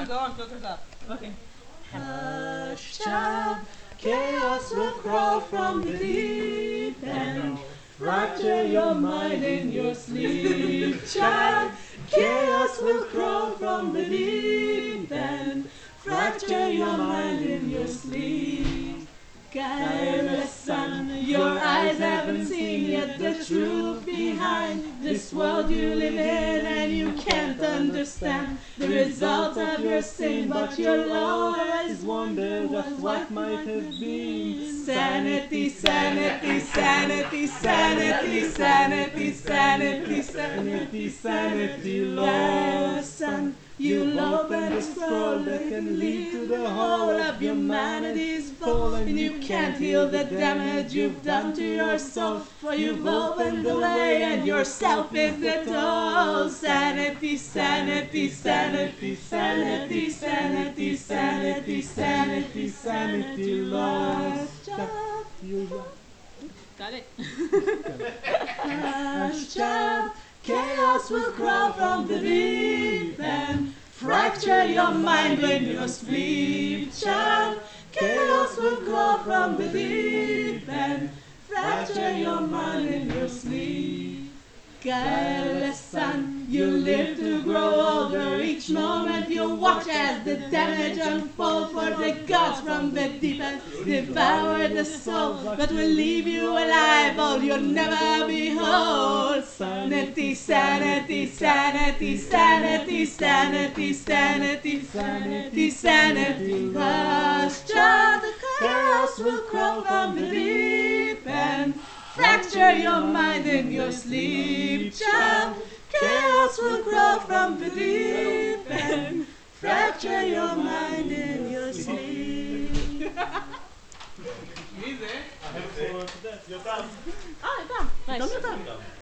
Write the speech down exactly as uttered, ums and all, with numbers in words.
go on, filters up. Okay. Hush, child, chaos will crawl from the deep end. Fracture your mind in your sleep, child. Chaos will crawl from the deep end. Fracture your mind in your sleep. Guileless son, your eyes haven't seen yet the truth behind this world you live in, and you can't understand the result of your sin, but you'll always wonder what what might have been. Sanity, sanity, sanity, sanity, sanity, sanity, sanity, sanity, lost son. You'll open a scroll that can lead to the whole of humanity's fall, and you can't heal the damage you've done to your soul, for you've opened the way and yourself is the toll. Sanity, sanity, sanity, sanity, sanity, sanity, sanity, sanity, lost. You Got it. Hush, child, chaos will crawl from the deep end. Fracture your mind when you sleep, child. Chaos will crawl from the deep end. Fracture your mind in your sleep. Guileless son, you live to grow older. Each moment you watch as the damage unfolds, for the gods from the deep end devour the soul, but will leave you alive all you'll never behold. Sanity, sanity, sanity, sanity, sanity, sanity, sanity, sanity. Hush, child, the chaos will crawl from the deep end. Fracture your mind in your sleep, child. Chaos will grow from the deep end. Fracture your mind in your sleep. Easy. יותם. אה, איתם. גם יותר.